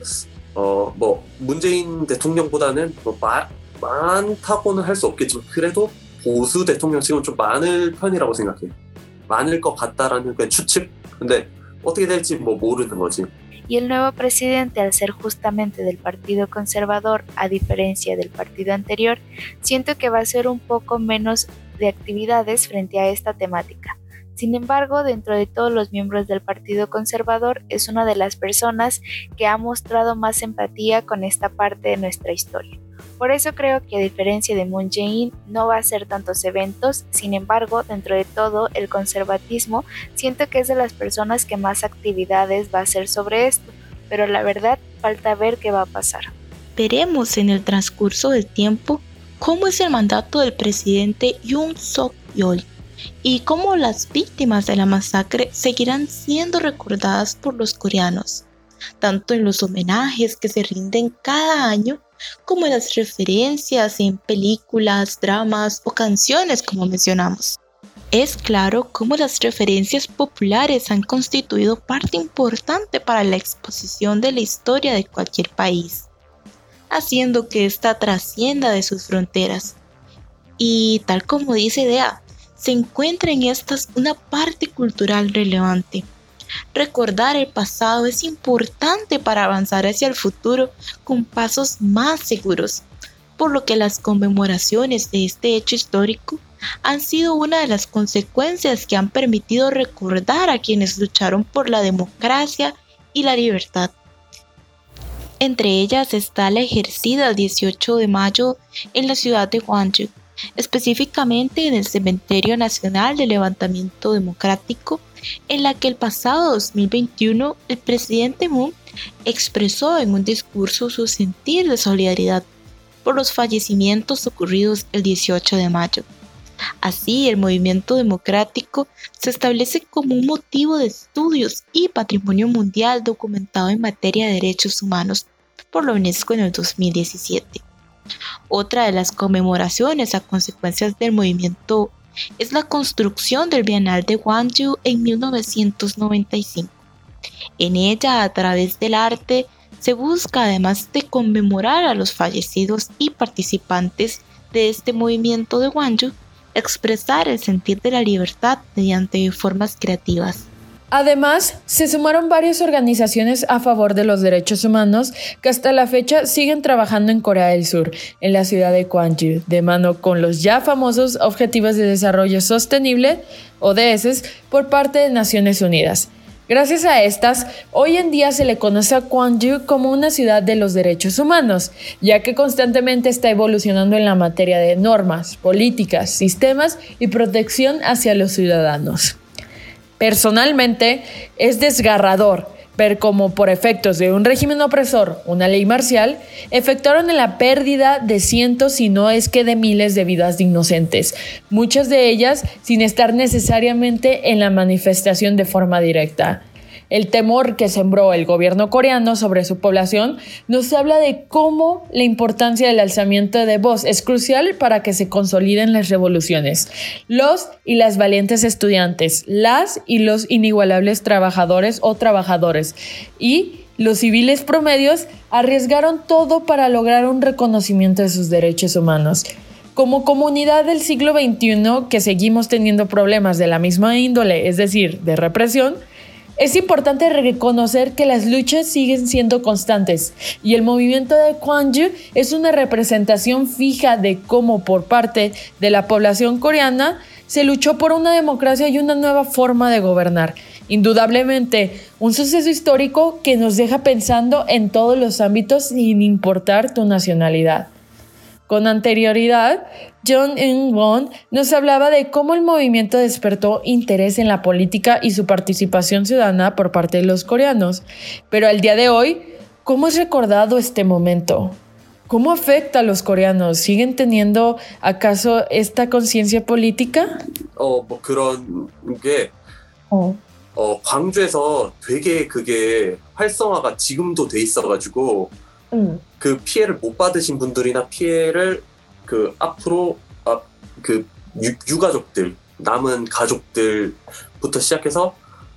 어 뭐 문재인 대통령보다는 뭐 마, 많다고는 할 수 없겠지만 그래도 보수 대통령 지금 좀 많을 편이라고 생각해요. 많을 것 같다라는 그냥 추측. 근데 어떻게 될지 뭐 모르는 거지. Y el nuevo presidente, al ser justamente del Partido Conservador, a diferencia del partido anterior, siento que va a ser un poco menos de actividades frente a esta temática. Sin embargo, dentro de todos los miembros del Partido Conservador, es una de las personas que ha mostrado más empatía con esta parte de nuestra historia. Por eso creo que a diferencia de Moon Jae-in, no va a hacer tantos eventos. Sin embargo, dentro de todo, el conservatismo siento que es de las personas que más actividades va a hacer sobre esto, pero la verdad falta ver qué va a pasar. Veremos en el transcurso del tiempo cómo es el mandato del presidente Yoon Suk-yeol y cómo las víctimas de la masacre seguirán siendo recordadas por los coreanos, tanto en los homenajes que se rinden cada año como en las referencias en películas, dramas o canciones como mencionamos. Es claro cómo las referencias populares han constituido parte importante para la exposición de la historia de cualquier país, haciendo que ésta trascienda de sus fronteras. Y tal como dice Dea, se encuentra en estas una parte cultural relevante. Recordar el pasado es importante para avanzar hacia el futuro con pasos más seguros, por lo que las conmemoraciones de este hecho histórico han sido una de las consecuencias que han permitido recordar a quienes lucharon por la democracia y la libertad. Entre ellas está la ejercida el dieciocho de mayo en la ciudad de Gwangju, específicamente en el Cementerio Nacional de Levantamiento Democrático, en la que el pasado dos mil veintiuno el presidente Moon expresó en un discurso su sentir de solidaridad por los fallecimientos ocurridos el dieciocho de mayo. Así, el movimiento democrático se establece como un motivo de estudios y patrimonio mundial documentado en materia de derechos humanos por la UNESCO en el dos mil diecisiete. Otra de las conmemoraciones a consecuencias del movimiento es la construcción del Bienal de Gwangju en mil novecientos noventa y cinco. En ella, a través del arte, se busca, además de conmemorar a los fallecidos y participantes de este movimiento de Gwangju, expresar el sentir de la libertad mediante formas creativas. Además, se sumaron varias organizaciones a favor de los derechos humanos que hasta la fecha siguen trabajando en Corea del Sur, en la ciudad de Gwangju, de mano con los ya famosos Objetivos de Desarrollo Sostenible, O D S, por parte de Naciones Unidas. Gracias a estas, hoy en día se le conoce a Gwangju como una ciudad de los derechos humanos, ya que constantemente está evolucionando en la materia de normas, políticas, sistemas y protección hacia los ciudadanos. Personalmente, es desgarrador ver cómo por efectos de un régimen opresor, una ley marcial, efectuaron la pérdida de cientos, si no es que de miles de vidas de inocentes, muchas de ellas sin estar necesariamente en la manifestación de forma directa. El temor que sembró el gobierno coreano sobre su población nos habla de cómo la importancia del alzamiento de voz es crucial para que se consoliden las revoluciones. Los y las valientes estudiantes, las y los inigualables trabajadores o trabajadores y los civiles promedios arriesgaron todo para lograr un reconocimiento de sus derechos humanos. Como comunidad del siglo veintiuno que seguimos teniendo problemas de la misma índole, es decir, de represión, es importante reconocer que las luchas siguen siendo constantes y el movimiento de Gwangju es una representación fija de cómo por parte de la población coreana se luchó por una democracia y una nueva forma de gobernar. Indudablemente, un suceso histórico que nos deja pensando en todos los ámbitos sin importar tu nacionalidad. Con anterioridad, Jung Eun-won nos hablaba de cómo el movimiento despertó interés en la política y su participación ciudadana por parte de los coreanos. Pero al día de hoy, ¿cómo es recordado este momento? ¿Cómo afecta a los coreanos? ¿Siguen teniendo acaso esta conciencia política? 어, 뭐 그런 게 어. 어, 광주에서 되게 그게 활성화가 지금도 돼 있어가지고 음. 그 피해를 못 받으신 분들이나 피해를 그 앞으로 아, 그 유, 유가족들 남은 가족들부터 시작해서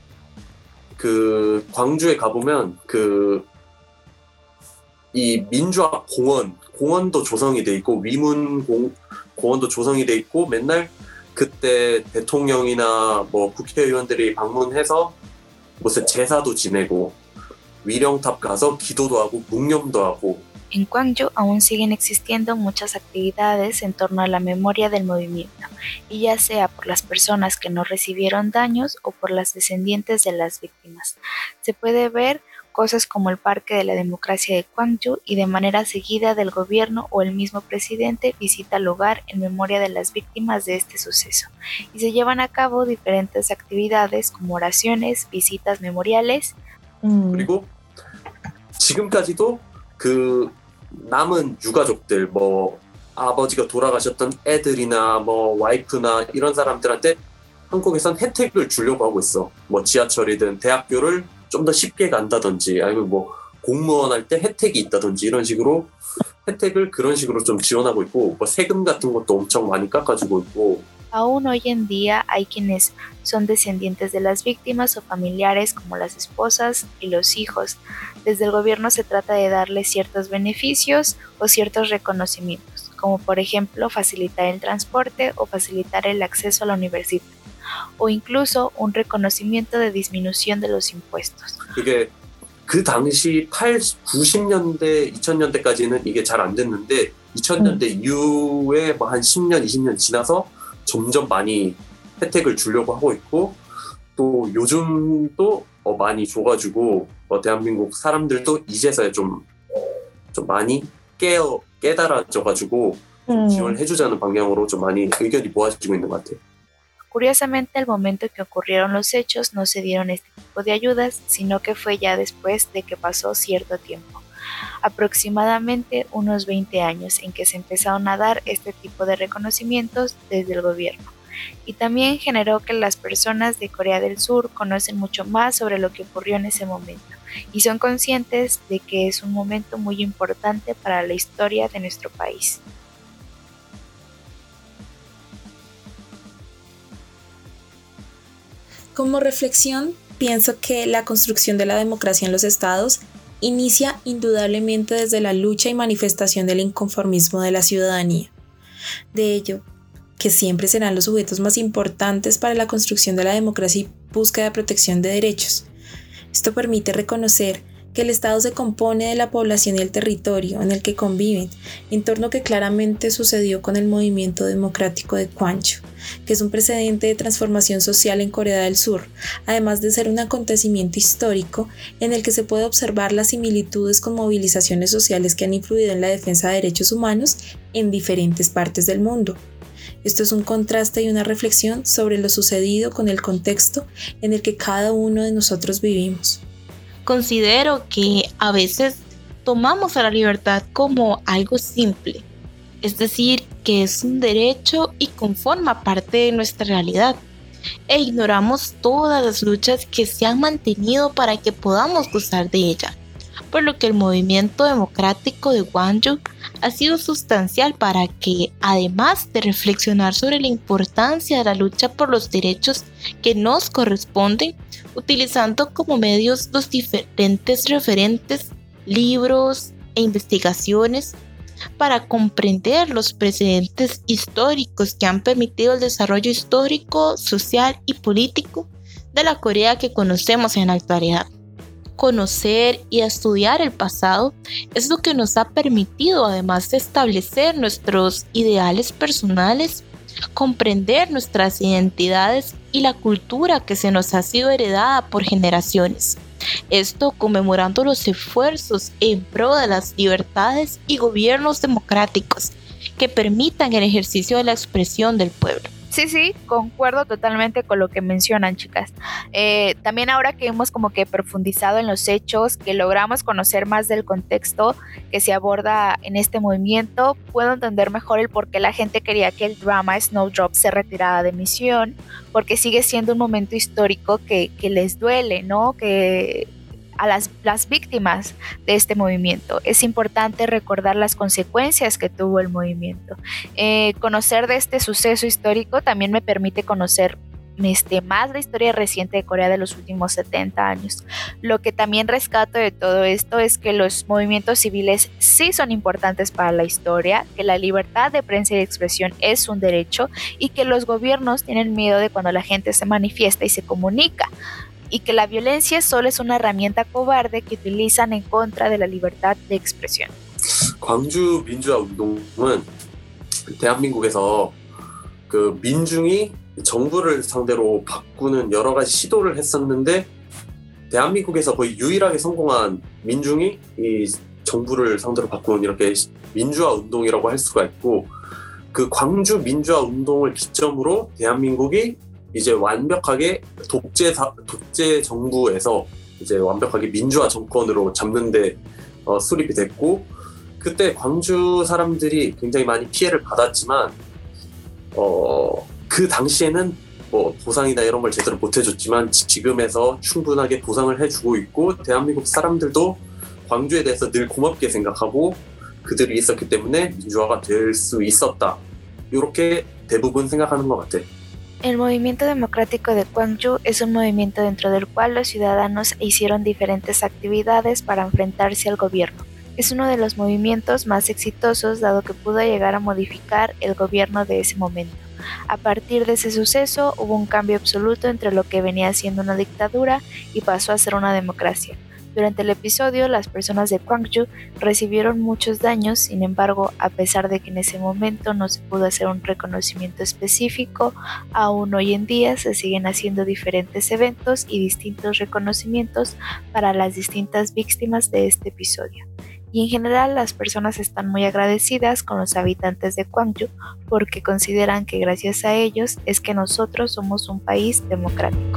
그 광주에 가보면 그 이 민주화 공원 공원도 조성이 돼 있고 위문 공, 공원도 조성이 돼 있고 맨날 그때 대통령이나 뭐 국회의원들이 방문해서 무슨 제사도 지내고 위령탑 가서 기도도 하고 묵념도 하고. En Gwangju aún siguen existiendo muchas actividades en torno a la memoria del movimiento, y ya sea por las personas que no recibieron daños o por las descendientes de las víctimas. Se puede ver cosas como el Parque de la Democracia de Gwangju y de manera seguida del gobierno o el mismo presidente visita el lugar en memoria de las víctimas de este suceso, y se llevan a cabo diferentes actividades como oraciones, visitas memoriales. 음. 그리고 지금까지도 그 남은 유가족들 뭐 아버지가 돌아가셨던 애들이나 뭐 와이프나 이런 사람들한테 한국에선 혜택을 주려고 하고 있어. 뭐 지하철이든 대학교를 좀 더 쉽게 간다든지 아니면 뭐 공무원 할 때 혜택이 있다든지 이런 식으로 혜택을 그런 식으로 좀 지원하고 있고 뭐 세금 같은 것도 엄청 많이 깎아주고 있고. Aún hoy en día hay quienes son descendientes de las víctimas o familiares como las esposas y los hijos. Desde el gobierno se trata de darles ciertos beneficios o ciertos reconocimientos, como por ejemplo facilitar el transporte o facilitar el acceso a la universidad, o incluso un reconocimiento de disminución de los impuestos. 그게 그 당시 팔십, 구십 년대, 이천 년대까지는 이게 잘 안 됐는데 이천 년대 음. 이후에 뭐 한 십 년, 이십 년 지나서 점점 많이 혜택을 주려고 하고 있고 또 요즘도 어 많이 줘가지고 어 대한민국 사람들도 이제서야 좀, 좀 많이 깨어, 깨달아져가지고 좀 지원을 해주자는 방향으로 좀 많이 의견이 모아지고 있는 것 같아요. Curiosamente, al momento que ocurrieron los hechos no se dieron este tipo de ayudas, sino que fue ya después de que pasó cierto tiempo, aproximadamente unos veinte años, en que se empezaron a dar este tipo de reconocimientos desde el gobierno. Y también generó que las personas de Corea del Sur conocen mucho más sobre lo que ocurrió en ese momento y son conscientes de que es un momento muy importante para la historia de nuestro país. Como reflexión, pienso que la construcción de la democracia en los estados inicia indudablemente desde la lucha y manifestación del inconformismo de la ciudadanía. De ello, que siempre serán los sujetos más importantes para la construcción de la democracia y búsqueda de protección de derechos. Esto permite reconocer que el Estado se compone de la población y el territorio en el que conviven, entorno que claramente sucedió con el movimiento democrático de Kwangju, que es un precedente de transformación social en Corea del Sur, además de ser un acontecimiento histórico en el que se puede observar las similitudes con movilizaciones sociales que han influido en la defensa de derechos humanos en diferentes partes del mundo. Esto es un contraste y una reflexión sobre lo sucedido con el contexto en el que cada uno de nosotros vivimos. Considero que a veces tomamos a la libertad como algo simple, es decir, que es un derecho y conforma parte de nuestra realidad, e ignoramos todas las luchas que se han mantenido para que podamos gozar de ella, por lo que el movimiento democrático de Kwangju ha sido sustancial para que, además de reflexionar sobre la importancia de la lucha por los derechos que nos corresponden, utilizando como medios los diferentes referentes, libros e investigaciones para comprender los precedentes históricos que han permitido el desarrollo histórico, social y político de la Corea que conocemos en la actualidad. Conocer y estudiar el pasado es lo que nos ha permitido, además de establecer nuestros ideales personales, comprender nuestras identidades y la cultura que se nos ha sido heredada por generaciones. Esto conmemorando los esfuerzos en pro de las libertades y gobiernos democráticos que permitan el ejercicio de la expresión del pueblo. Sí, sí, concuerdo totalmente con lo que mencionan, chicas. Eh, también ahora que hemos como que profundizado en los hechos, que logramos conocer más del contexto que se aborda en este movimiento, puedo entender mejor el por qué la gente quería que el drama Snowdrop se retirara de emisión, porque sigue siendo un momento histórico que, que les duele, ¿no? Que a las, las víctimas de este movimiento. Es importante recordar las consecuencias que tuvo el movimiento. Eh, conocer de este suceso histórico también me permite conocer este, más la historia reciente de Corea de los últimos setenta años. Lo que también rescato de todo esto es que los movimientos civiles sí son importantes para la historia, que la libertad de prensa y de expresión es un derecho y que los gobiernos tienen miedo de cuando la gente se manifiesta y se comunica, y que la violencia solo es una herramienta cobarde que utilizan en contra de la libertad de expresión. 광주 민주화 운동은 대한민국에서 그 민중이 정부를 상대로 바꾸는 여러 가지 시도를 했었는데 대한민국에서 거의 유일하게 성공한 민중이 이 정부를 상대로 바꾸는 이렇게 민주화 운동이라고 할 수가 있고, 그 광주 민주화 운동을 기점으로 대한민국이 이제 완벽하게 독재 독재 정부에서 이제 완벽하게 민주화 정권으로 잡는데 어, 수립이 됐고, 그때 광주 사람들이 굉장히 많이 피해를 받았지만 어, 그 당시에는 뭐 보상이나 이런 걸 제대로 못 해줬지만 지금에서 충분하게 보상을 해주고 있고, 대한민국 사람들도 광주에 대해서 늘 고맙게 생각하고 그들이 있었기 때문에 민주화가 될 수 있었다, 이렇게 대부분 생각하는 것 같아. El movimiento democrático de Kwangju es un movimiento dentro del cual los ciudadanos hicieron diferentes actividades para enfrentarse al gobierno. Es uno de los movimientos más exitosos dado que pudo llegar a modificar el gobierno de ese momento. A partir de ese suceso hubo un cambio absoluto entre lo que venía siendo una dictadura y pasó a ser una democracia. Durante el episodio, las personas de Kwangju recibieron muchos daños, sin embargo, a pesar de que en ese momento no se pudo hacer un reconocimiento específico, aún hoy en día se siguen haciendo diferentes eventos y distintos reconocimientos para las distintas víctimas de este episodio. Y en general las personas están muy agradecidas con los habitantes de Kwangju porque consideran que gracias a ellos es que nosotros somos un país democrático.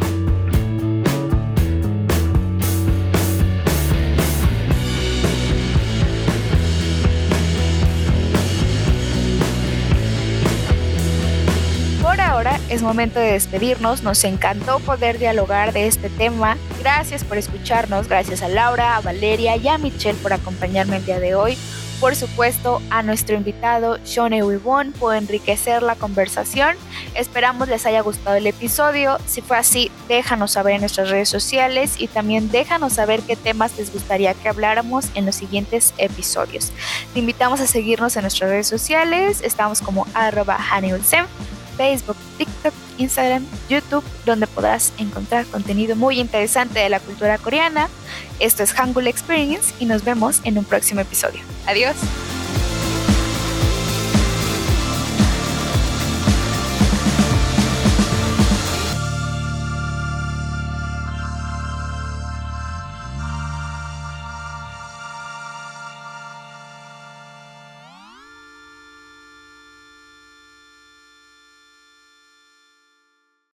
Ahora es momento de despedirnos. Nos encantó poder dialogar de este tema. Gracias por escucharnos, gracias a Laura, a Valeria y a Michelle por acompañarme el día de hoy. Por supuesto, a nuestro invitado Sean Eui-won por enriquecer la conversación. Esperamos les haya gustado el episodio. Si fue así, déjanos saber en nuestras redes sociales y también déjanos saber qué temas les gustaría que habláramos en los siguientes episodios. Te invitamos a seguirnos en nuestras redes sociales. Estamos como arroba Haniulsem, Facebook, TikTok, Instagram, YouTube, donde podrás encontrar contenido muy interesante de la cultura coreana. Esto es Hangul Experience y nos vemos en un próximo episodio. Adiós.